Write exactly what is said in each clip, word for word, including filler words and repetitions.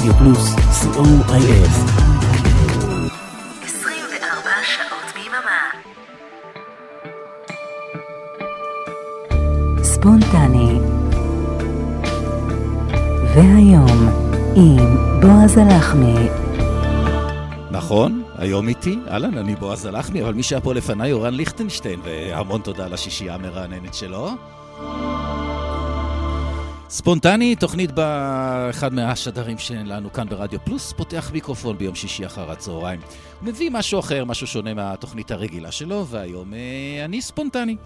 רדיו פלוס, סי או איי אס. עשרים וארבע שעות ביממה. ספונטני. והיום עם בועז הלחמי. נכון, היום איתי, אהלן, אני בועז הלחמי, אבל מי שהיה פה לפניי אורן ליכטנשטיין, והמון תודה לשישייה המרעננת שלו. ספונטני, תוכנית באחד מהשדרים שלנו כאן ברדיו פלוס, פותח מיקרופון ביום שישי אחר הצהריים. הוא מביא משהו אחר, משהו שונה מהתוכנית הרגילה שלו, והיום אה, אני ספונטני.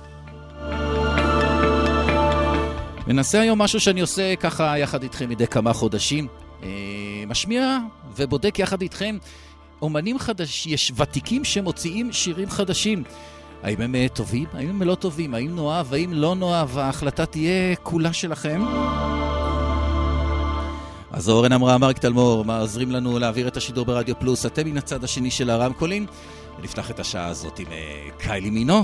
מנסה היום משהו שאני עושה ככה יחד איתכם מדי כמה חודשים. אה, משמיע ובודק יחד איתכם אומנים חדשים, יש ותיקים שמוציאים שירים חדשים. האם הם טובים? האם הם לא טובים? האם נאהב? האם לא נאהב? ההחלטה תהיה כולה שלכם. אז אורן אמרה, מרק תלמור, מעזרים לנו להעביר את השידור ברדיו פלוס. אתם מן הצד השני של הרמקולים. ונפתח את השעה הזאת עם קיילי מינו.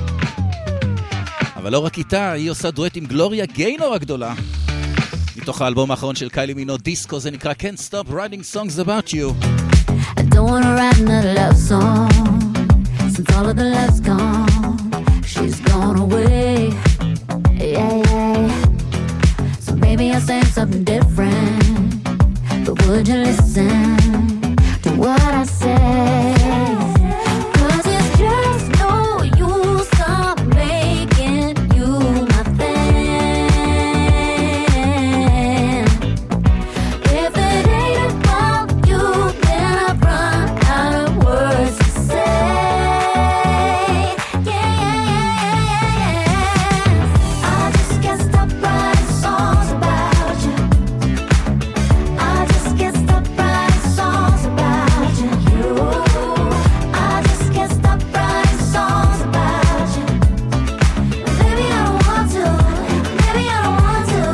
אבל לא רק איתה, היא עושה דואט עם גלוריה גיינור הגדולה. מתוך האלבום האחרון של קיילי מינו, דיסקו, זה נקרא Can't Stop Writing Songs About You. I don't wanna write another love song since all of the love's gone. She's gone away, yeah, yeah. So maybe I'll say something different, but would you listen to what I say? Cause it's just no use I'm making you my thing. If it ain't about you, then I've run out of words to say. Yeah, yeah, yeah, yeah, yeah. I just can't stop writing songs about you. I just can't stop writing songs about you. You. I just can't stop writing songs about you. Maybe I don't want to. Maybe I don't want to.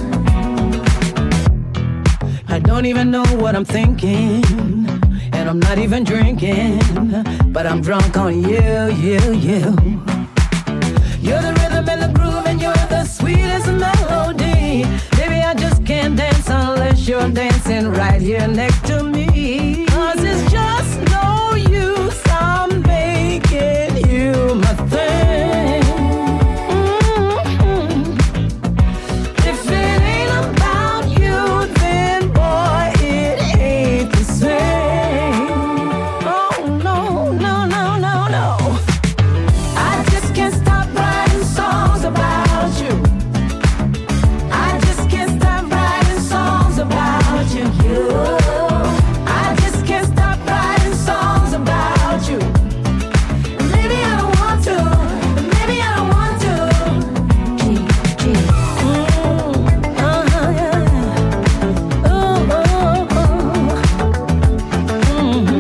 I don't even know what I'm thinking, and I'm not even drinking, but I'm drunk on you, you, you. You're the rhythm and the groove, and you're the sweetest melody. Maybe I just can't dance unless you're dancing right here next to me. Cause it's just no use I'm making you my thing. Mm-hmm. If it ain't about you, then boy, it ain't the same. Oh no, no, no, no, no. I just can't stop writing songs about you. I just can't stop writing songs about you. You. I just can't stop writing songs about you. Maybe I don't want to. Maybe I don't want to. Gee, gee. Mm, uh-huh, yeah. Oh, oh, oh. Mm-hmm.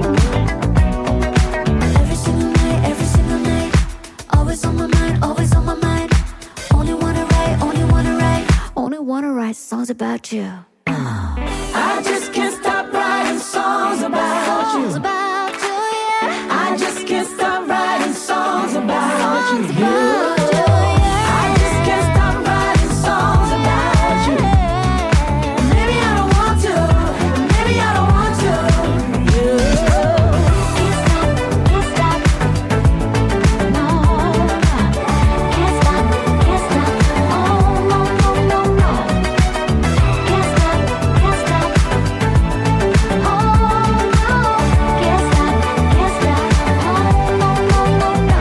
Every single night, every single night, always on my mind, always on my mind. Only wanna write, only wanna write, only wanna write songs about you. I just can't stop writing songs about you. Songs about you, yeah. I just can't stop writing songs about you. Songs about you, yeah. I just can't stop writing songs about you. Maybe I don't want to. Maybe I don't want to. Can't stop, can't stop. No. Can't stop, can't stop. Oh no, no, no, no. Can't stop, can't stop. Oh no. Can't stop, can't stop. Oh no, no, no, no.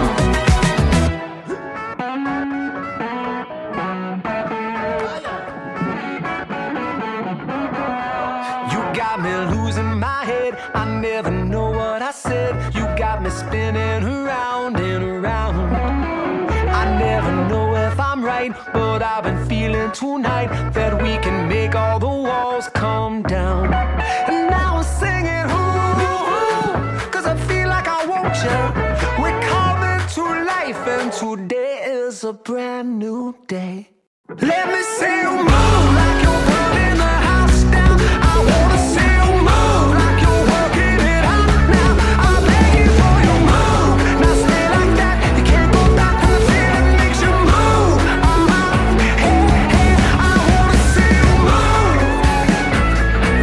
You got me losing my head. I never know what I said. You got me spinning around and around. I never know if I'm right, but I've been feeling tonight that we can make all the walls come down. And now I'm singing, ooh, ooh, cause I feel like I want you. We're coming to life, and today is a brand new day. Let me see you move like you're burning the house down. I wanna see you move like you're working it out now. I'm begging for you move. Now stay like that. You can't go back to the feeling makes you move. Uh-huh. Hey, hey, I wanna see you move.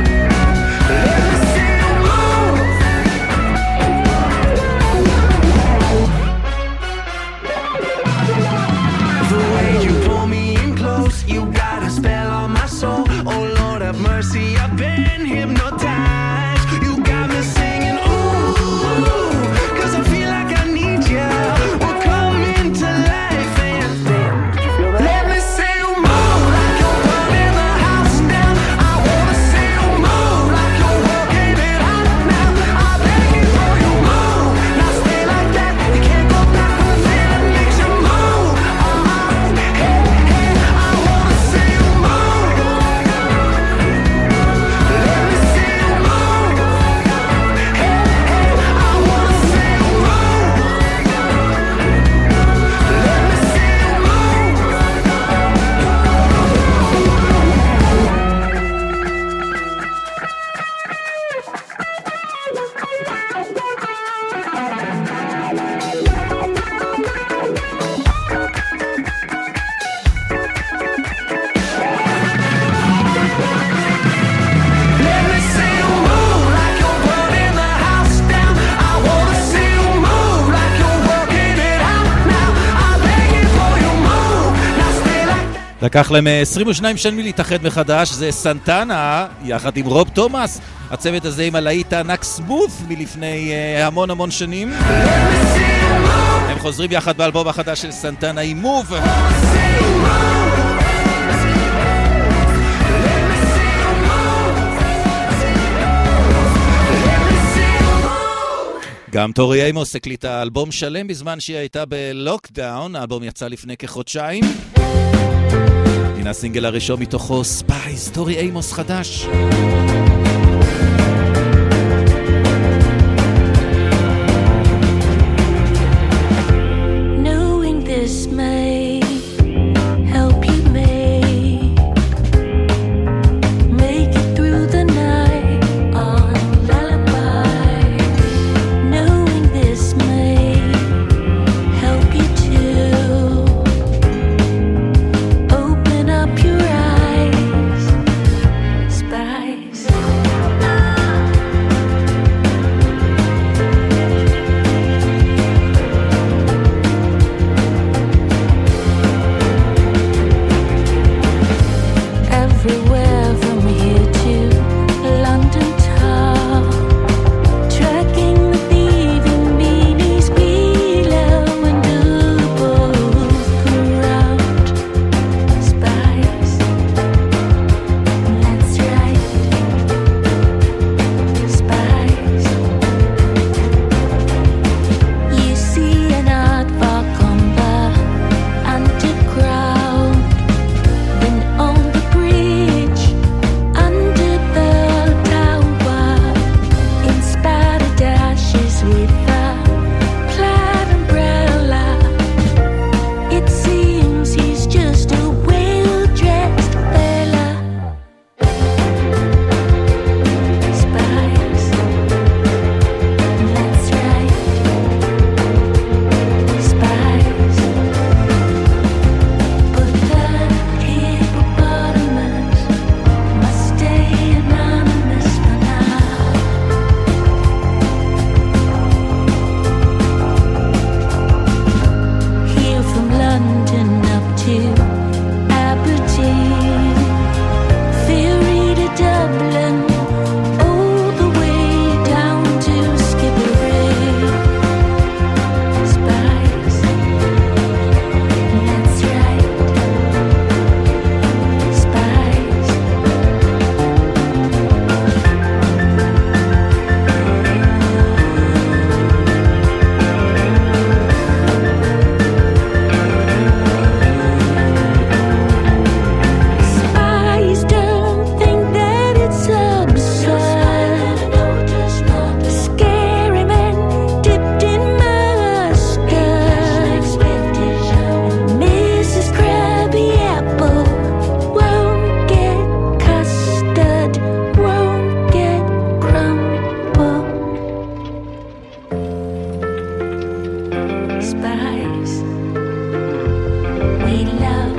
לקח להם עשרים ושתיים שנים להתאחד מחדש, זה סנטנה, יחד עם רוב תומאס. הצוות הזה עם הלהיט הענק סמות מלפני uh, המון המון שנים. הם חוזרים יחד באלבום החדש של סנטנה עם מוב. גם טורי אימוס הקליטה אלבום שלם בזמן שהיא הייתה בלוקדאון. האלבום יצא לפני כחודשיים. הנה הסינגל הראשון מתוכו, ספייס, טורי אימוס חדש. Knowing this may help you make make it through the night on lullaby. Knowing this may help you to open up your eyes, spice. Everywhere from here to London town, tracking the thieving meanies below and above, around spies. That's right, spies. You see an art walk on the underground. Then on the bridge, under the tower, inspired dashes with a plaid umbrella. It seems he's just a well-dressed fella. Spies. That's right. Spies. But the hippopotamus must stay anonymous for now. Here from London up to Aberdeen, ferry to Dublin, all the way down to Skibbereen. Spies. That's right. Spies. Spies don't think that it's absurd. Scary men dipped in mustard. Missus Krabby Apple won't get custard, won't get crumbled. Spies we love.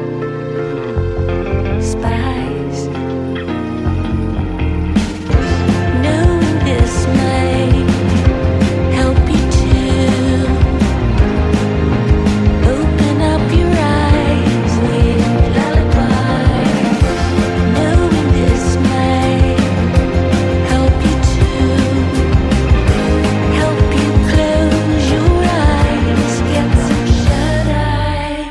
Spies. Knowing this may help you to open up your eyes with lullaby. Knowing this may help you to help you close your eyes, get some shut-eye.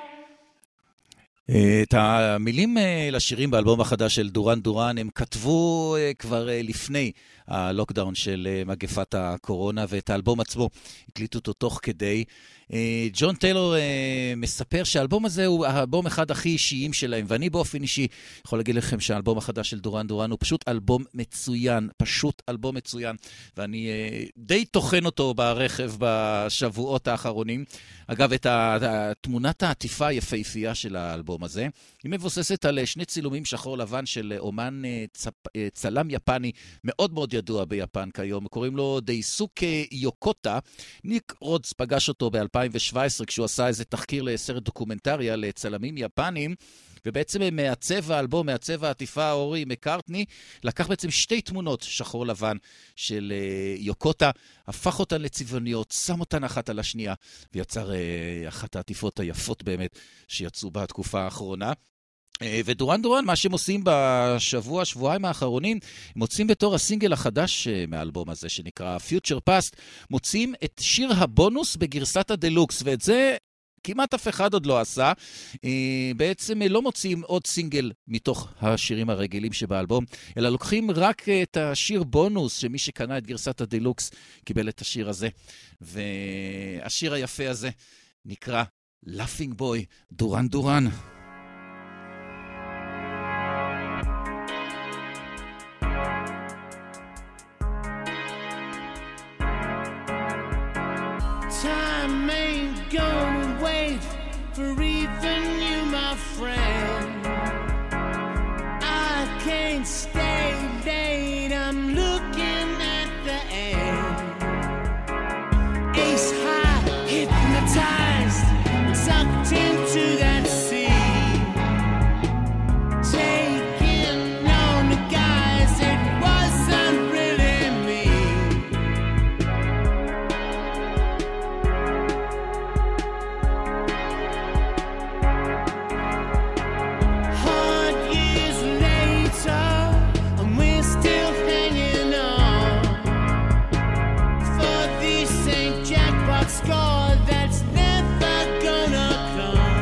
את המילים אה, לשירים באלבום החדש של דורן דורן הם כתבו אה, כבר אה, לפני הלוקדאון של אה, מגפת הקורונה, ואת האלבום עצמו הקליטו אותו תוך כדי. אה, ג'ון טיילור אה, מספר שהאלבום הזה הוא האלבום אחד הכי אישיים שלהם, ואני באופן אישי יכול להגיד לכם שהאלבום החדש של דורן דורן הוא פשוט אלבום מצוין, פשוט אלבום מצוין, ואני אה, די תוכן אותו ברכב בשבועות האחרונים. אגב, את תמונת העטיפה היפהפייה של האלבום הזה, היא מבוססת על שני צילומים שחור לבן של אומן צפ... צלם יפני מאוד מאוד ידוע ביפן כיום, קוראים לו דייסוקה יוקוטה. ניק רודס פגש אותו ב-אלפיים שבע עשרה כשהוא עשה איזה תחקיר לסרט דוקומנטרי על צלמים יפנים, ובעצם מעצב האלבום, מעצב העטיפה אורי מקארטני, לקח בעצם שתי תמונות שחור לבן של uh, יוקוטה, הפך אותן לצבעוניות, שם אותן אחת על השנייה, ויצר uh, אחת העטיפות היפות באמת שיצאו בתקופה האחרונה. ודורן דורן, מה שהם עושים בשבוע, שבועיים האחרונים, הם מוצאים בתור הסינגל החדש מהאלבום הזה, שנקרא Future Past, מוצאים את שיר הבונוס בגרסת הדלוקס, ואת זה כמעט אף אחד עוד לא עשה. בעצם לא מוצאים עוד סינגל מתוך השירים הרגילים שבאלבום, אלא לוקחים רק את השיר בונוס, שמי שקנה את גרסת הדלוקס קיבל את השיר הזה. והשיר היפה הזה נקרא Laughing Boy, דורן דורן. Time ain't gonna wait for even you, my friend. I can't stay late, I'm looking at the end. Ace high, hypnotized, sucked into that sea. Taking on the guys, it wasn't really me. Hard years later, and we're still hanging on for this Saint jackpot score that's never gonna come.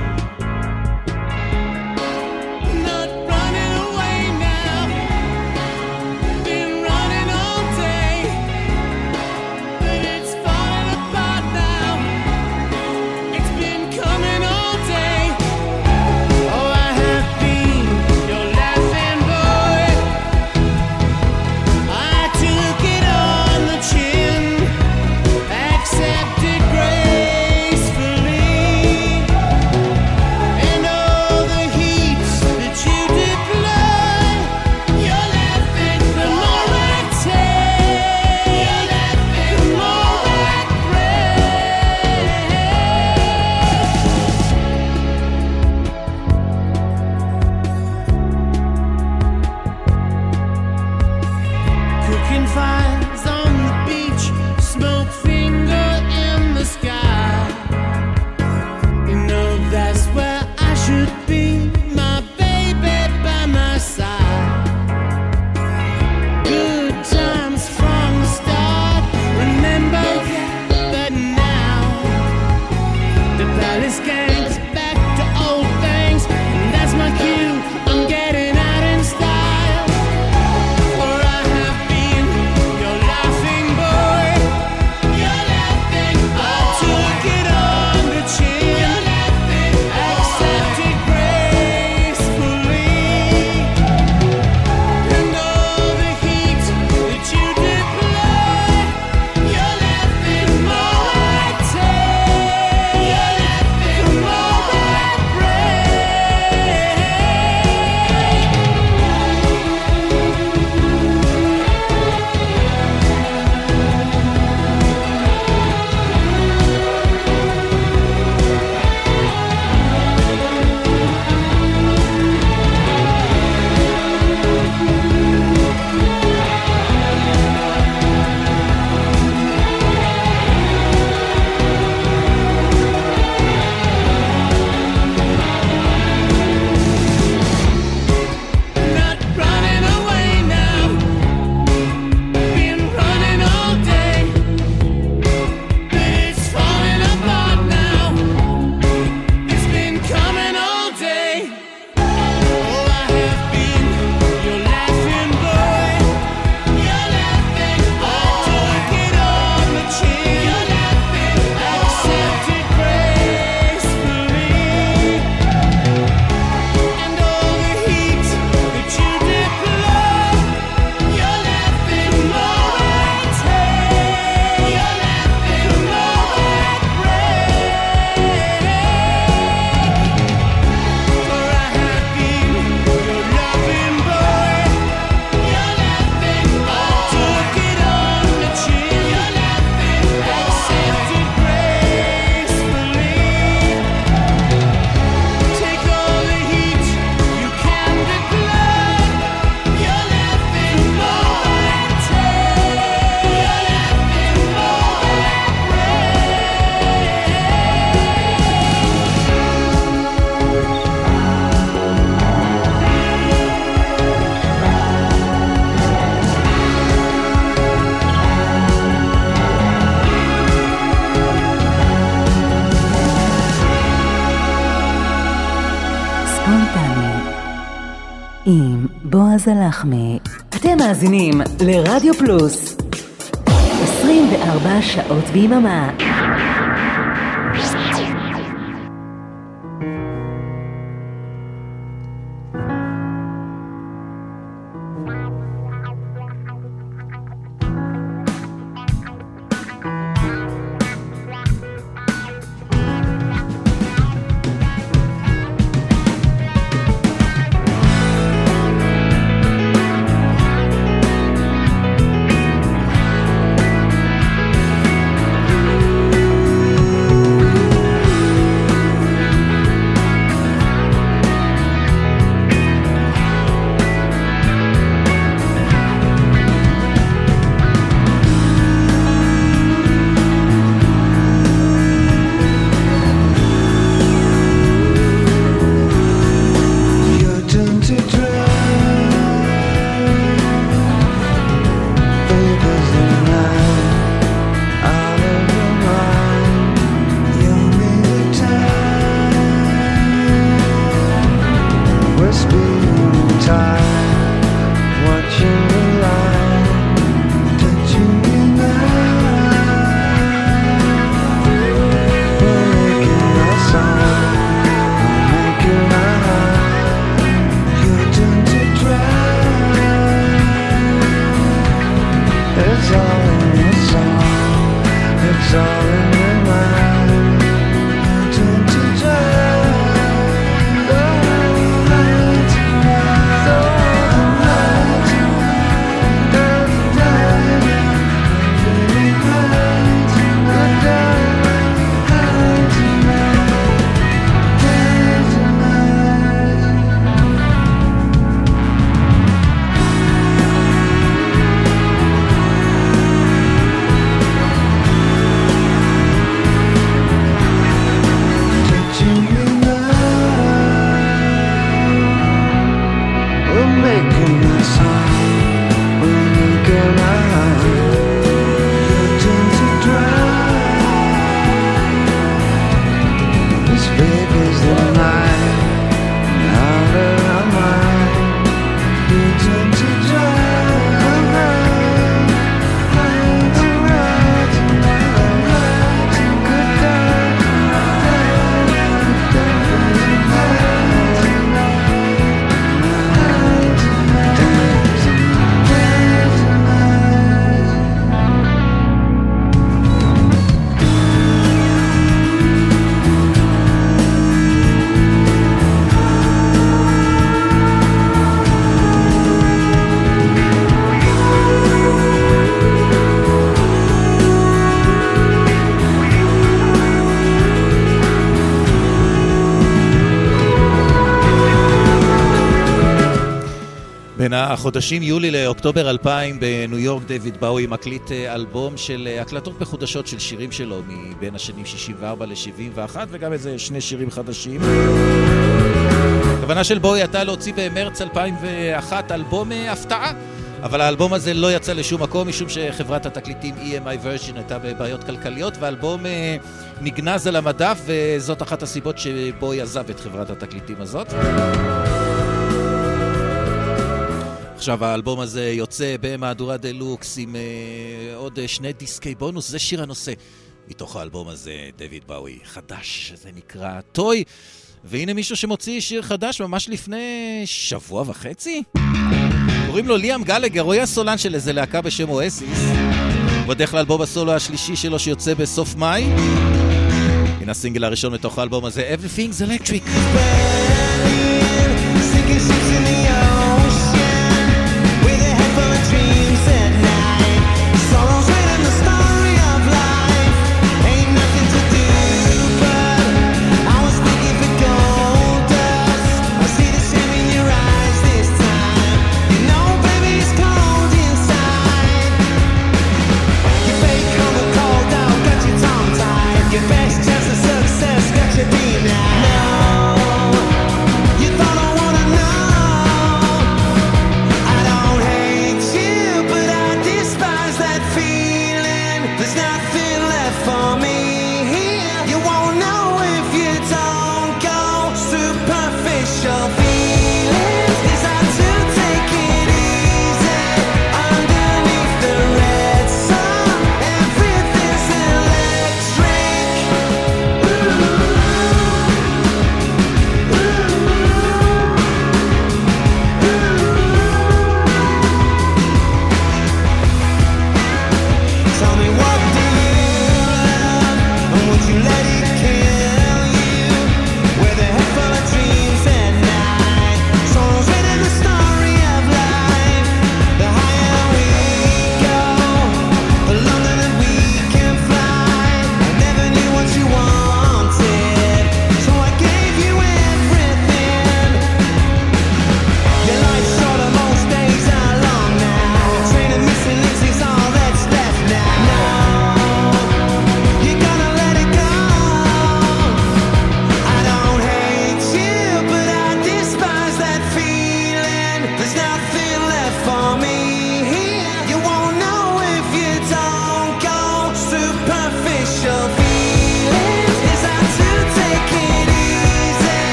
Not running away now, been running all day, but it's falling apart now. It's been coming all day. Oh, I have been your laughing boy. I took it on the chin, accepted gracefully, and all the heat that you deploy, you're laughing the more I take, you're laughing the more I pray. Cooking fires on the beach, smoke finger in the sky. You know that's where I should be, my baby by my side. Good times from the start, remember that, but now the palace gang's back to old things, and that's my cue, I'm getting out in style. For I have been your laughing boy, you're laughing, I took it on the chin, you're laughing, accepted gracefully, and all the heat that you deploy, you're laughing more I take, you're laughing more ספונטני עם בועז הלחמי. אתם מאזינים לרדיו פלוס עשרים וארבע שעות ביממה. בין החודשים יולי לאוקטובר אלפיים בניו יורק דיוויד באוי מקליט אלבום של הקלטות מחודשות של שירים שלו מבין השנים שישים וארבע ל-שבעים ואחת וגם איזה שני שירים חדשים. הכוונה של באוי הייתה להוציא במרץ אלפיים ואחת אלבום הפתעה, אבל האלבום הזה לא יצא לשום מקום משום שחברת התקליטים E M I Virgin הייתה בבעיות כלכליות והאלבום נגנז על המדף, וזאת אחת הסיבות שבאוי עזב את חברת התקליטים הזאת. עכשיו האלבום הזה יוצא במהדורה דלוקס עם uh, עוד uh, שני דיסקי בונוס, זה שיר הנושא מתוך האלבום הזה, דיוויד באוי חדש, זה נקרא טוי, והנה מישהו שמוציא שיר חדש ממש לפני שבוע וחצי, קוראים לו ליאם גלגר, הוא היה סולן של איזה להקה בשם אואסיס, בדרך לאלבום הסולו השלישי שלו שיוצא בסוף מאי, הנה הסינגל הראשון מתוך האלבום הזה, Everything's Electric. Dreams at night, sorrows written the story of life. Ain't nothing to do, but I was looking for gold dust. I see the shame in your eyes this time. You know, baby, it's cold inside. Your fake color cold out, got your tongue tied. Your best chance of success got you beat now. No, you thought I wanna know.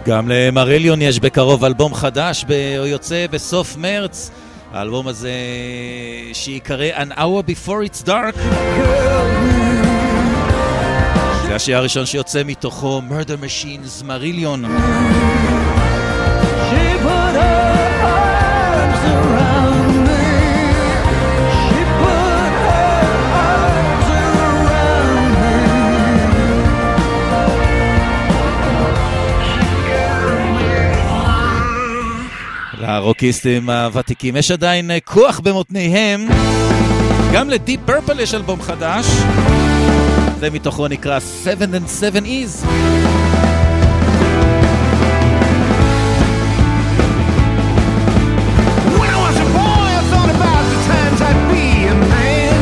גם למריליון יש בקרוב אלבום חדש, הוא יוצא בסוף מרץ. האלבום הזה שיקרא An Hour Before It's Dark. זה השיר הראשון שיוצא מתוכו, Murder Machines, מריליון. She put her arms around me. She put her arms around me. לרוקיסטים הוותיקים יש עדיין כוח במותניהם. גם לדיפ פרפל יש אלבום חדש. זה מתוכו נקרא Seven and Seven Is. When I was a boy, I thought about the times I'd be a man.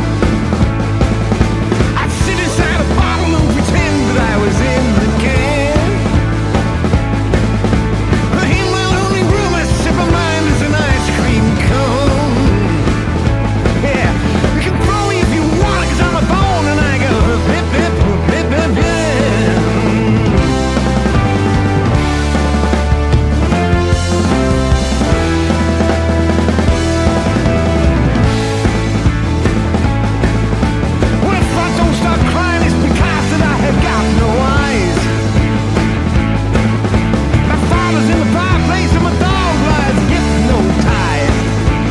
I'd sit inside a bottle and pretend that I was in the can. In my lonely room, I sip my mind as an ice cream cone. Yeah, you can throw me if you want, 'cause I'm a bone and I go bip bip bip bip bip. Well, if I don't start crying, it's because that I have got no eyes. My father's in the fireplace and my dog lies hypnotized.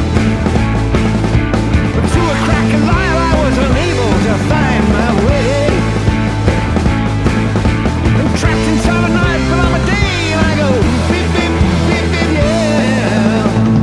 But to a crack of light, I was unable to find my way. I'm trapped inside a night, but I'm a day, and I go beep beep beep beep yeah.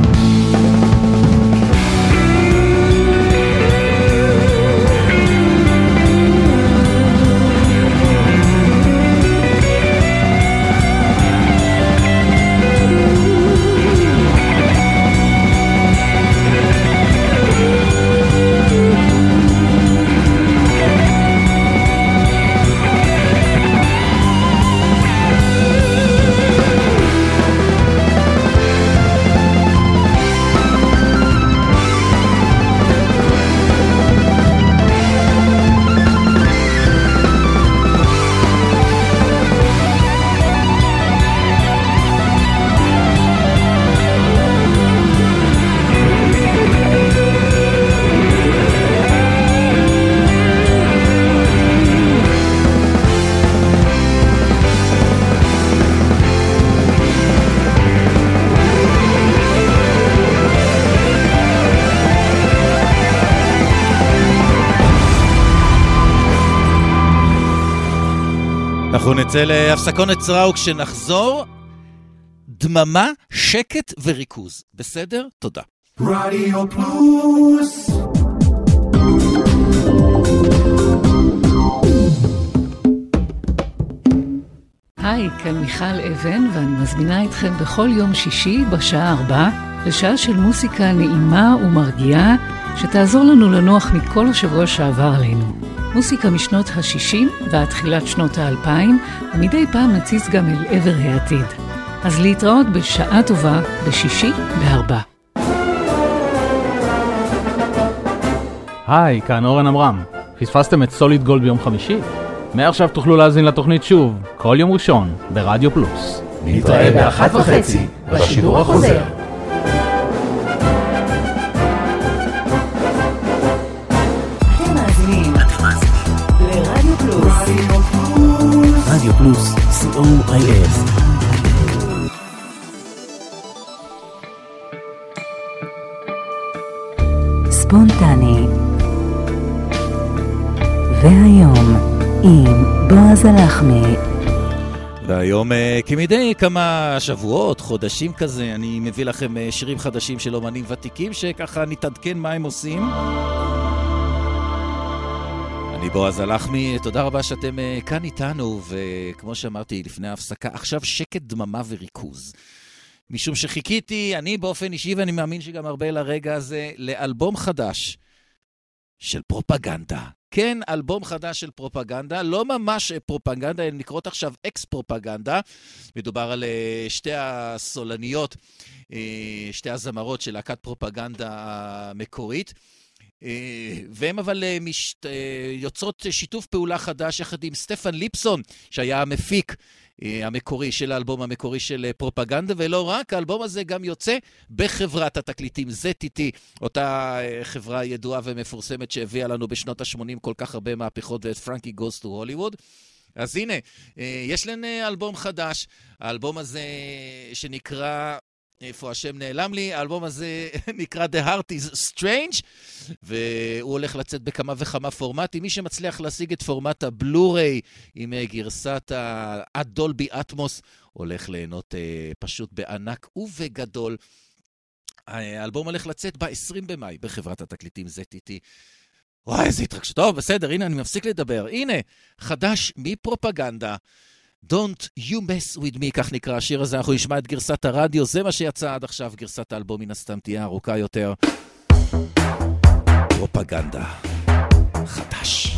אנחנו נצא להפסקון קצרה וכשנחזור, דממה, שקט וריכוז. בסדר? תודה. רדיו פלוס. היי, כאן מיכל אבן, ואני מזמינה אתכם בכל יום שישי בשעה ארבע לשעה של מוסיקה נעימה ומרגיעה שתעזור לנו לנוח מכל השבוע שעבר עלינו. מוסיקה משנות ה-שישים ועד תחילת שנות ה-אלפיים, ומדי פעם נציץ גם אל עבר העתיד. אז להתראות בשעה טובה בשישי בארבע. היי, כאן אורן אמרם. פספסתם את סוליד גולד ביום חמישי? מעכשיו תוכלו להזין לתוכנית שוב, כל יום ראשון, ברדיו פלוס. נתראה באחת וחצי בשידור החוזר. אתם מאזינים לרדיו פלוס. רדיו פלוס, סי או איי אס. ספונטני. והיום עם בועז הלחמי. והיום כמדי כמה שבועות, חודשים כזה, אני מביא לכם שירים חדשים של אומנים ותיקים שככה נתעדכן מה הם עושים. אני בועז הלחמי, תודה רבה שאתם כאן איתנו, וכמו שאמרתי לפני ההפסקה, עכשיו שקט, דממה וריכוז. משום שחיכיתי, אני באופן אישי ואני מאמין שגם הרבה לרגע הזה, לאלבום חדש של פרופגנדה. כן, אלבום חדש של פרופגנדה, לא ממש פרופגנדה, הן נקראות עכשיו אקס-פרופגנדה. מדובר על שתי הסולניות, שתי הזמרות של להקת פרופגנדה המקורית. והם אבל משת... יוצרות שיתוף פעולה חדש יחד עם סטפן ליפסון, שהיה המפיק המקורי של האלבום המקורי של פרופגנדה, ולא רק, האלבום הזה גם יוצא בחברת התקליטים זד טי טי, אותה חברה ידועה ומפורסמת שהביאה לנו בשנות ה-שמונים כל כך הרבה מהפכות, ואת פרנקי גוס טו הוליווד. אז הנה, יש לנו אלבום חדש, האלבום הזה שנקרא, איפה השם נעלם לי, האלבום הזה נקרא The Heart is Strange, והוא הולך לצאת בכמה וכמה פורמטים. מי שמצליח להשיג את פורמט הבלו-ריי עם גרסת הדולבי אטמוס, הולך ליהנות פשוט בענק ובגדול. האלבום הולך לצאת ב-עשרים במאי בחברת התקליטים זד טי טי. וואי, איזה התרגשות. טוב, בסדר, הנה, אני מפסיק לדבר. הנה, חדש מפרופגנדה. Don't you mess with me, כך נקרא השיר הזה. אנחנו נשמע את גרסת הרדיו, זה מה שיצא עד עכשיו. גרסת האלבום מן הסתם תהיה ארוכה יותר. פרופגנדה. חדש.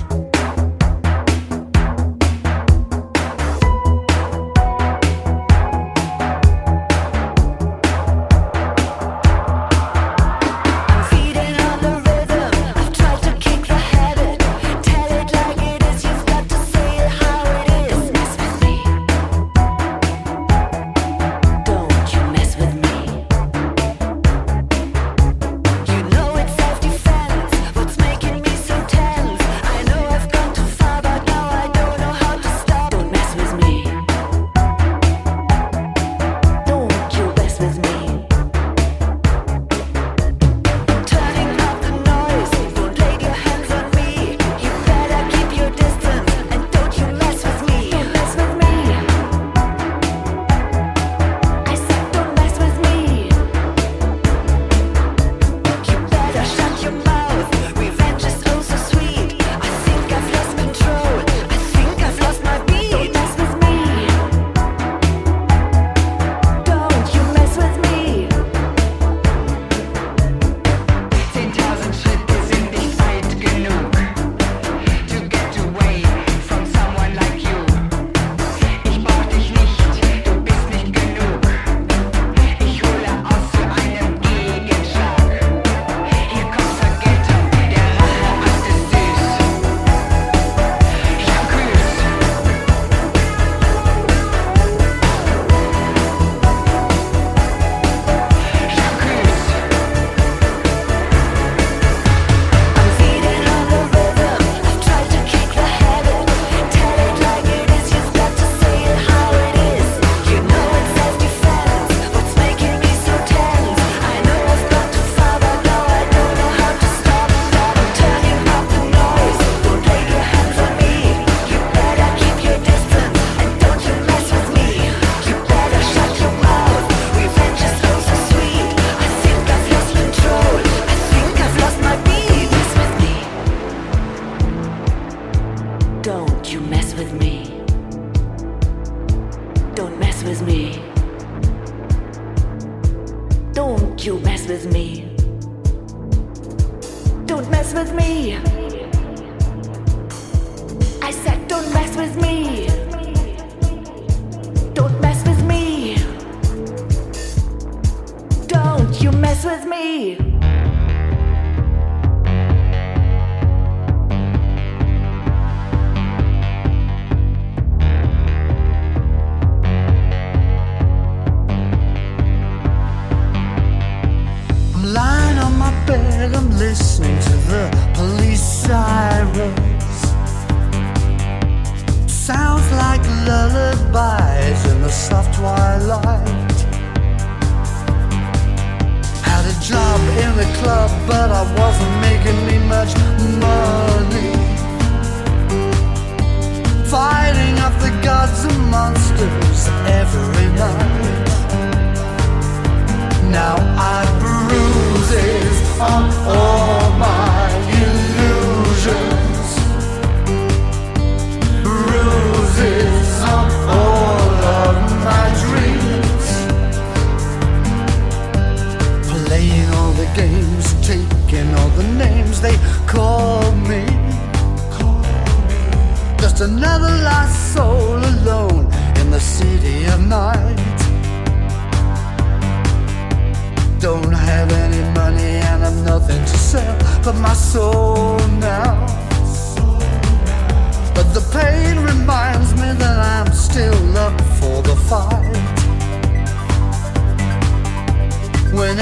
Don't have any money and I'm nothing to sell, but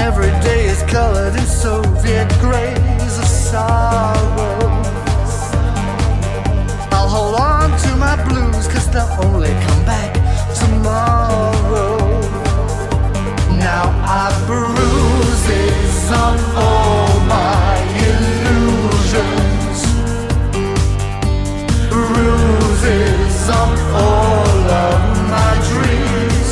Every day is colored in Soviet grays of sorrow. I'll hold on to my blues, cause they'll only come back tomorrow. Now I've bruises on all my illusions, bruises on all of my dreams.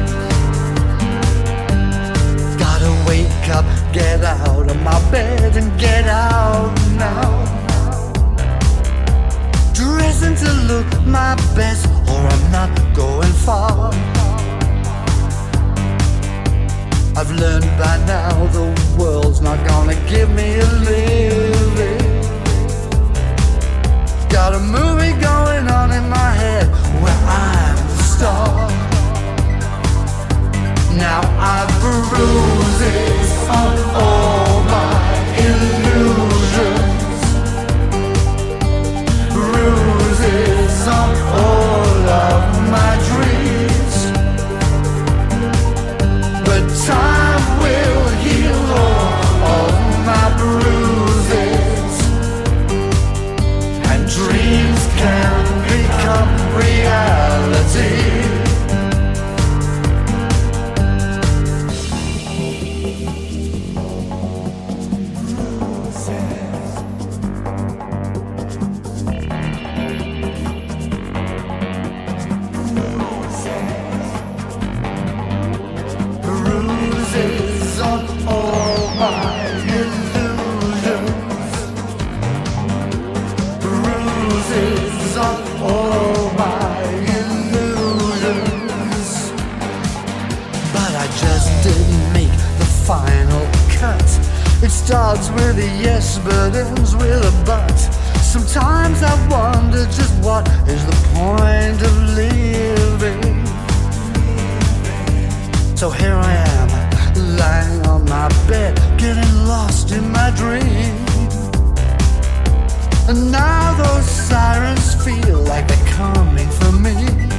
Gotta wake up, get out of my bed and get out now. Dressing to look my best, or I'm not going far. I've learned by now the world's not gonna give me a living. Got a movie going on in my head where I'm the star. Now I've bruises on all my illusions, bruises on all of my dreams. But time will heal all of my bruises, and dreams can become reality. Bruises on all my illusions, bruises on all my illusions. But I just didn't make the final cut. It starts with a yes but ends with a but. Sometimes I wonder just what is the point of living. So here I am, lying on my bed, getting lost in my dream. And now those sirens feel like they're coming for me.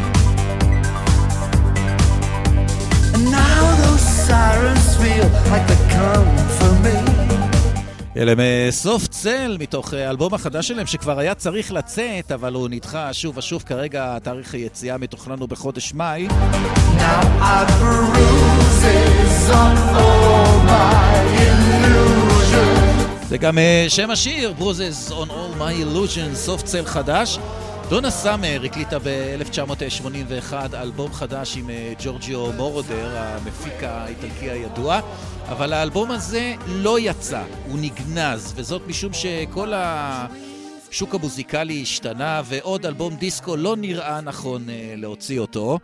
And now those sirens feel like they're coming for me. אלה מסוף צל, מתוך האלבום החדש שלהם שכבר היה צריך לצאת, אבל הוא נדחה שוב ושוב. כרגע תאריך היציאה מתוכנן הוא בחודש מאי. Now I bruises on all my illusions. זה גם שם השיר, Bruises on all my illusions, סוף צל חדש. דונה סאמר הקליטה ב-אלף תשע מאות שמונים ואחת אלבום חדש עם ג'ורג'יו מורדר, המפיק האיטלקי הידוע, אבל האלבום הזה לא יצא, הוא נגנז, וזאת משום שכל השוק המוזיקלי השתנה, ועוד אלבום דיסקו לא נראה נכון להוציא אותו.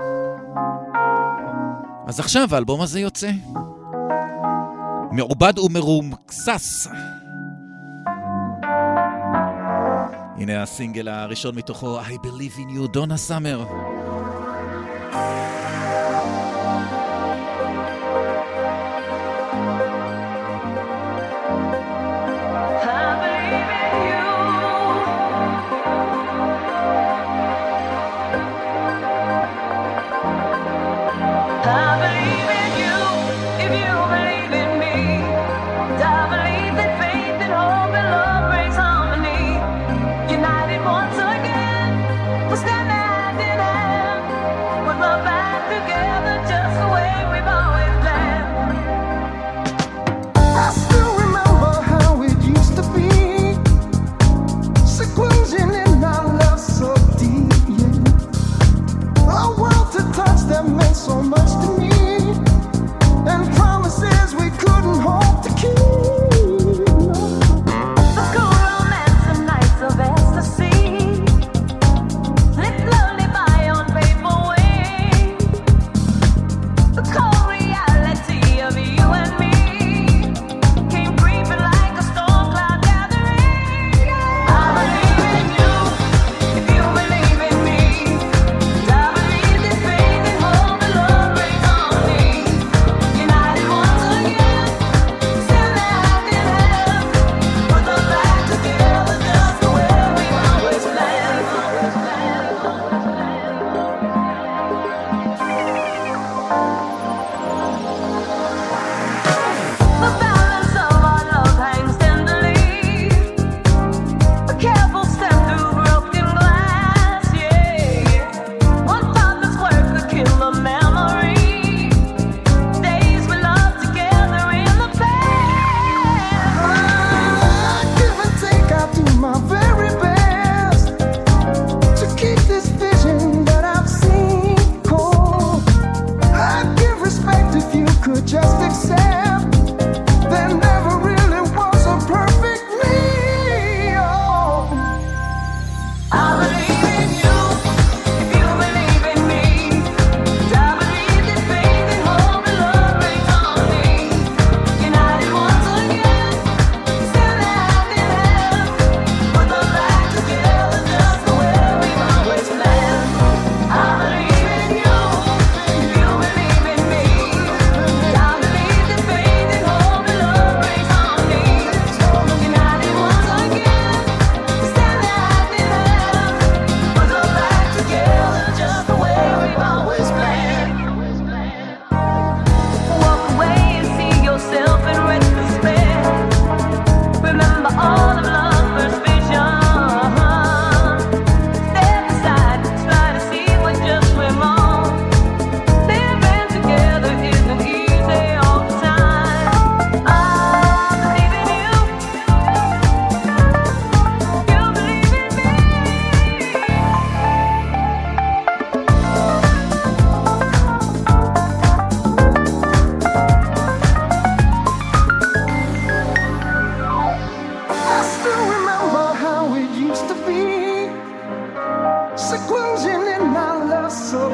אז עכשיו האלבום הזה יוצא. מעובד ומרומקסס. הנה הסינגל הראשון מתוכו, I Believe in You, דונה סאמר. United once again, we're standing hand in hand.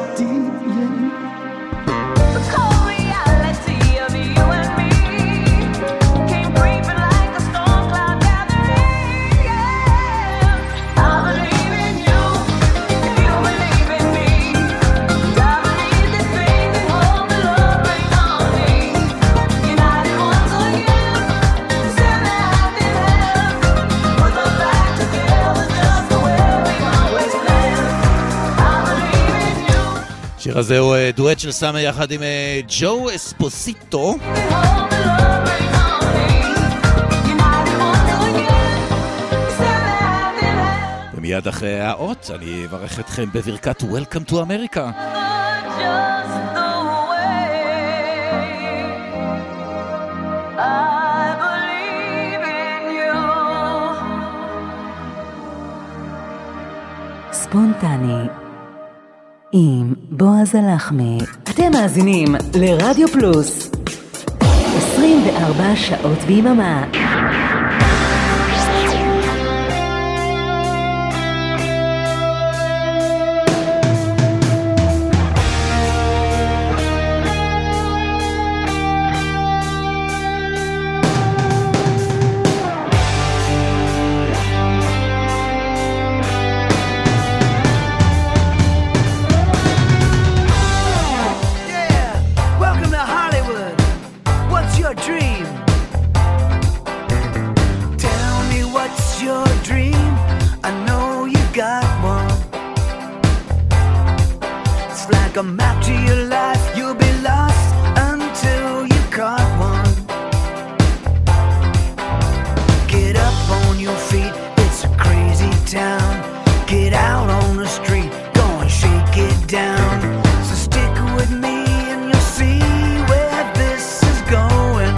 deep, yeah. The cold reality of you and me came creeping like a storm cloud gathering. Yeah. I believe in you, if you believe in me. I believe this faith and hope the love rain on me. United once again, send the hand in hand. Put us back together just the way we always planned. I believe in you. השיר הזה הוא אה, דואט של סאמר יחד עם אה, ג'ו אספוסיטו. ומיד אחרי האות אני אברך אתכם בברכת Welcome to America. ספונטני עם בועז הלחמי. אתם מאזינים לרדיו פלוס עשרים וארבע שעות ביממה. Welcome to Hollywood. What's your dream? Tell me what's your dream. I know you got one. It's like a map to your life. You'll be lost until you caught one. Get up on your feet. It's a crazy town. Get out on the street. Go and shake it down. So stick with me. See where this is going.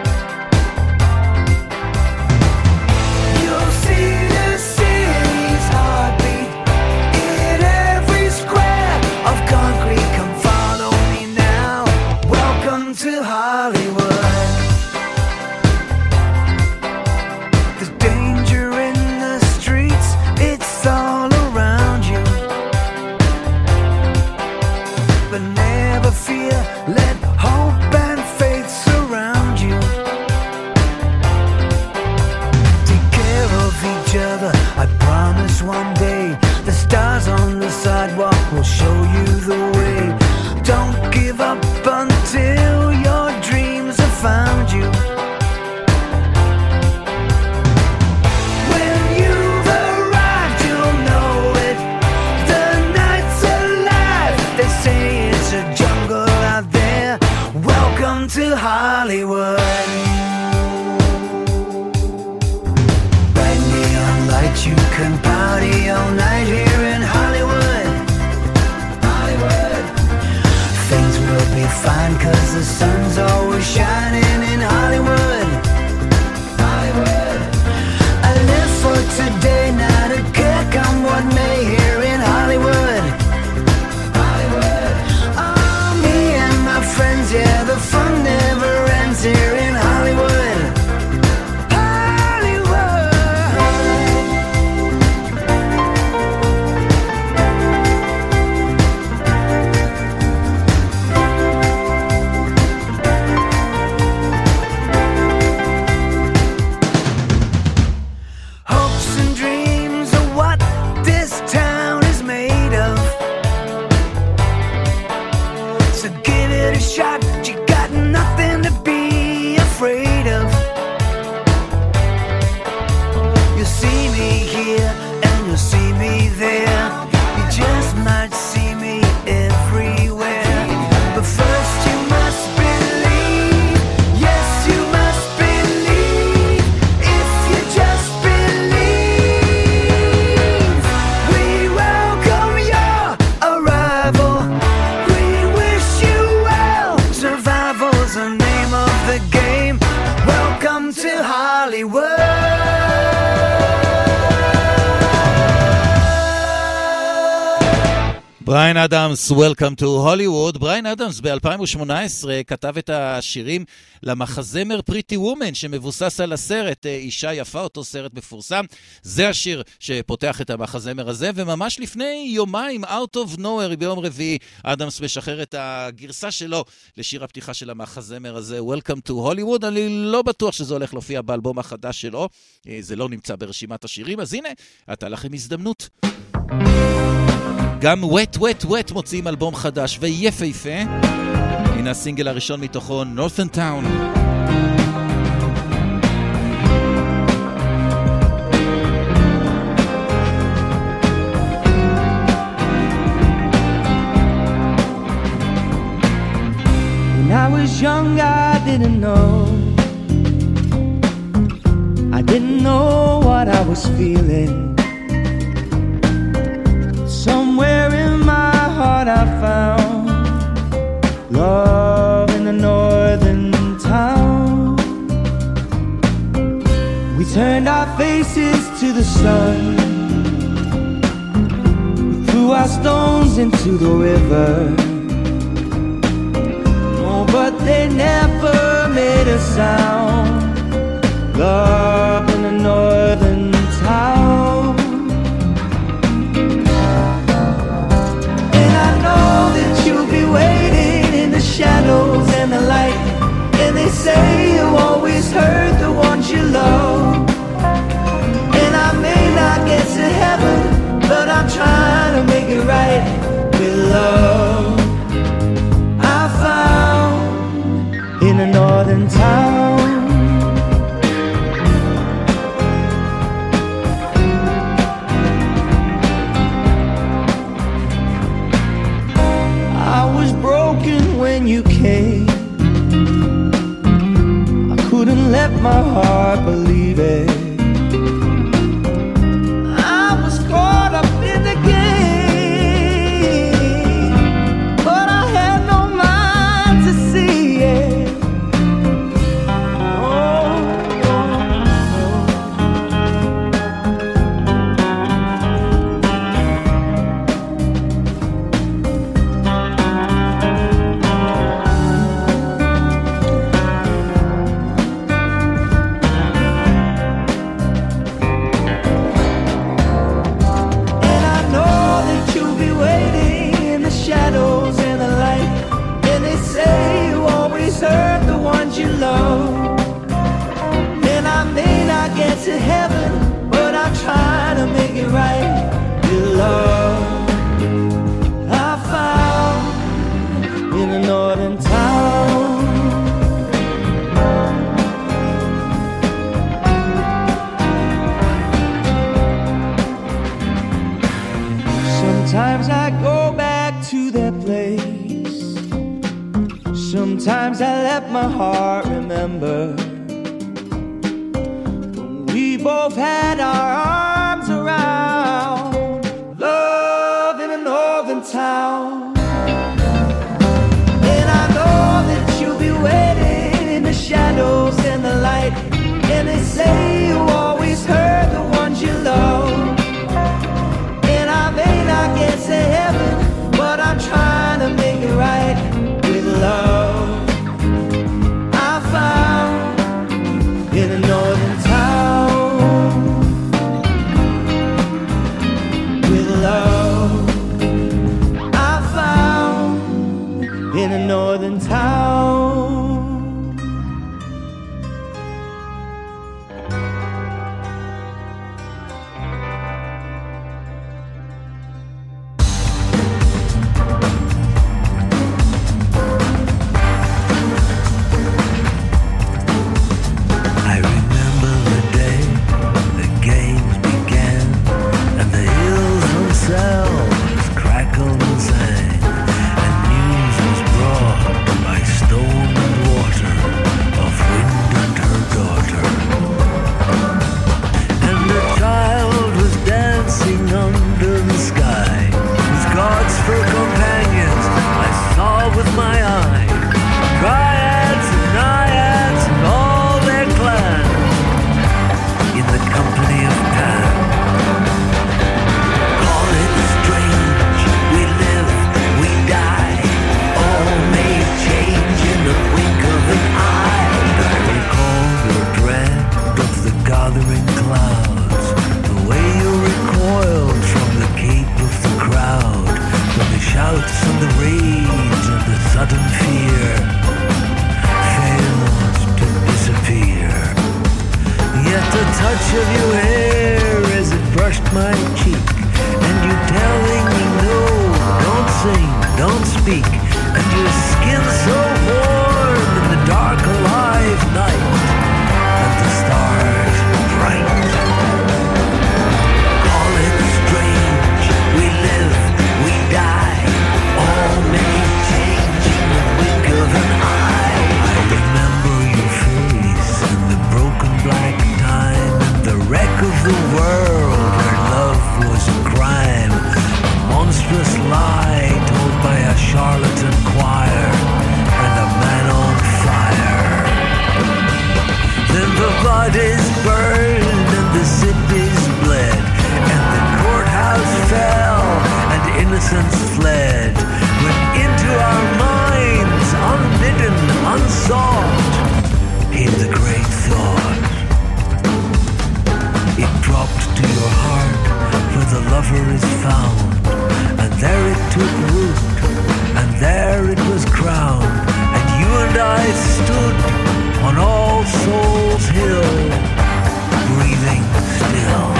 You'll see the city's heartbeat in every square of concrete. Come follow me now. Welcome to Hollywood. There's danger in the streets. It's all around you. But never fear. Let hope and faith surround you. Take care of each other. I promise one day the stars on the sidewalk will show you the way. Don't give up until your dreams have found you. When you've arrived, you'll know it. The night's alive. They say it's a jungle out there. Welcome to Hollywood. Bright neon lights, you can party all night here in Hollywood. Hollywood. Things will be fine 'cause the sun's always shining in Hollywood. Hollywood. I live for today, not a care come what may here in Hollywood. Hollywood. Oh, me and my friends, yeah, the fun never ends here in Hollywood. Hollywood. בריין אדמס, Welcome to Hollywood. בריין אדמס ב-אלפיים שמונה עשרה כתב את השירים למחזמר פריטי וומן, שמבוסס על הסרט אישה יפה, אותו סרט מפורסם. זה השיר שפותח את המחזמר הזה, וממש לפני יומיים, Out of Nowhere, ביום רביעי, אדמס משחרר את הגרסה שלו לשיר הפתיחה של המחזמר הזה, Welcome to Hollywood. אני לא בטוח שזה הולך להופיע באלבום החדש שלו, זה לא נמצא ברשימת השירים, אז הנה, הייתה לכם הזדמנות. גם Wet Wet Wet מוציאים אלבום חדש ויפה יפה. הנה הסינגל הראשון מתוכו, Northern Town. When I was young, I didn't know. I didn't know what I was feeling. Somewhere in my heart I found love in the northern town. We turned our faces to the sun. We threw our stones into the river. Oh, but they never made a sound. Love in the northern town. You'll be waiting in the shadows and the light. And they say you always hurt the ones you love. And I may not get to heaven, but I'm trying to make it right with love. I found in a northern town. When you came, I couldn't let my heart believe it. I was caught up in the game, but I had no mind to see it. Oh, you love. And I may not get to heaven, but I'm trying to make it right with love. I found in a northern town. Sometimes I go back to that place. Sometimes I let my heart remember when we both had our arms around love in a northern town. And I know that you'll be waiting in the shadows and the light. And they say you always hurt the ones you love. And I may not get to heaven, but I'm trying to make it right with love. I found in a northern town with love. I found in a northern town. Crackled and sang, and news was brought by and your skin so warm in the dark alive night, and the stars bright. Call it strange, we live, we die, all may change in the wink of an eye. I remember your face in the broken black time, and the wreck of the world where love was a crime, a monstrous lie told by a charlatan choir, and a man on fire. Then the bodies burned and the cities bled, and the courthouse fell and innocence fled. When into our minds, unbidden, unsought, came the great thought. It dropped to your heart, for the lover is found, and there it took root, and there it was crowned, and you and I stood on All Souls Hill, breathing still.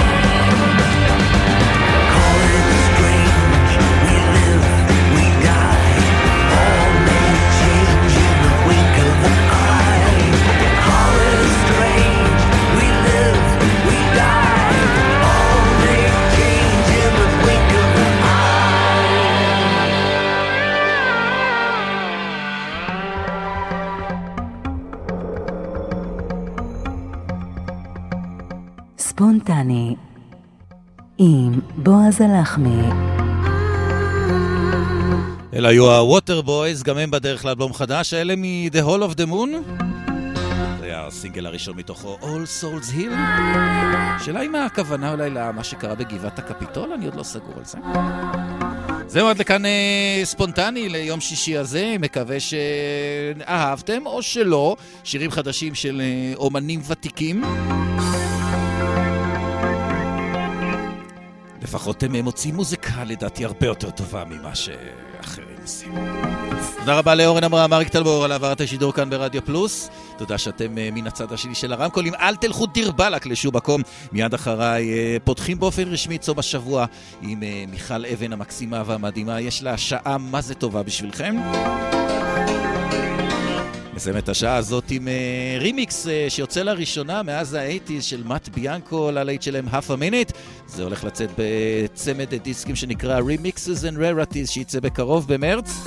Call it strange, we live, we die, all may change in the wink of an eye. Call it strange, we live, we die, all may change in the wink of an ספונטני עם בועז הלחמי. אלה היו הווטר בויז, גם הם בדרך לאלבום חדש, האלה מ-The Hall of the Moon. זה היה הסינגל הראשון מתוכו, All Souls Hill. שאלה אם הכוונה אולי למה שקרה בגבעת הקפיטול, אני עוד לא סגור על זה. זהו, עד לכאן אה, ספונטני ליום שישי הזה, מקווה שאהבתם או שלא, שירים חדשים של אה, אומנים ותיקים. לפחות הם מוצאים מוזיקה לדעתי הרבה יותר טובה ממה שאחרים עושים. תודה רבה לאורן אמרם, אריק טלמור על העברת השידור כאן ברדיו פלוס. תודה שאתם מן הצד השני של הרמקולים. אל תלכו דיר בלק לשום מקום. מיד אחריי פותחים באופן רשמי צום השבוע עם מיכל אבן המקסימה והמדהימה. יש לה שעה מה זה טובה בשבילכם. נסיים את השעה הזאת עם uh, רימיקס uh, שיוצא לראשונה מאז ה-שמונים של מאט ביאנקו ללהיט שלהם Half a Minute. זה הולך לצאת בצמד דיסקים שנקרא Remixes and Rarities שיצא בקרוב במרץ.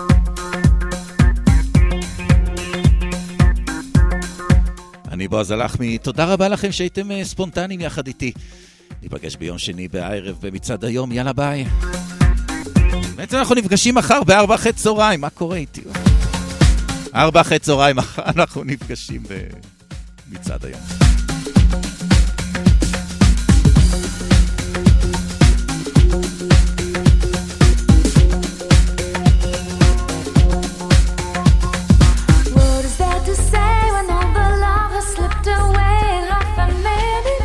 אני בועז הלחמי, תודה רבה לכם שהייתם uh, ספונטניים יחד איתי. ניפגש ביום שני בערב במצעד היום, יאללה ביי. בעצם אנחנו נפגשים מחר בארבע אחרי צהריים, מה קורה איתי? ארבע אחרי צהריים אנחנו נפגשים במצעד היום. What is there to say when all the love has slipped away in half a minute?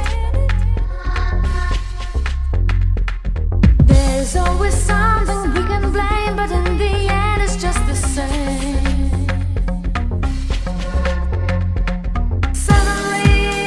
There's always something we can blame, but in the end it's just the same. Suddenly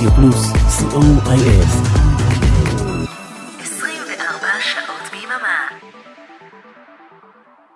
רדיו פלוס, סי או איי אס.